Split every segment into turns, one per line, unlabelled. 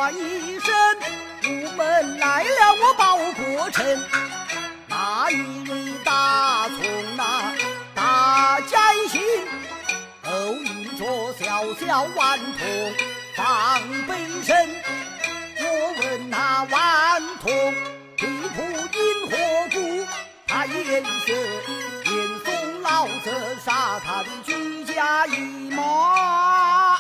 喊一声，午门来了，我报国臣。那一日大从那大灾星，都引着小小顽童放悲声。我问那顽童，地铺因何故？他颜色严嵩老者杀他的居家一马。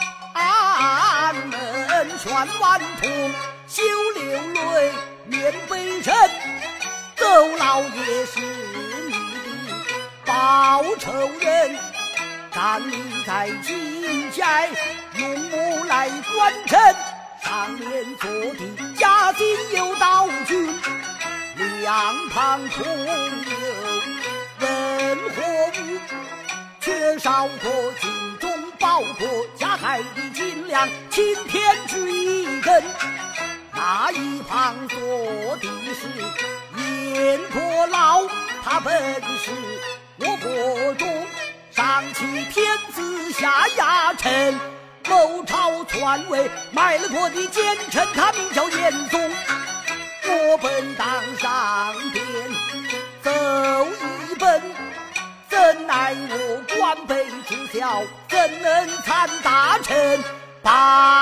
门劝顽童休流泪面悲沉，邹老爷是你的报仇人，站立在金寨用木来观臣，上面坐的嘉靖有道君，两旁空有文火武，缺少过京中报国加害的金良钦天之一根。那一旁坐的是燕国老，他本是我国中上欺天子下压臣，谋朝篡位卖了国的奸臣，他名叫严嵩。我本当上殿奏一本，怎奈我官卑职小，怎能参大臣？把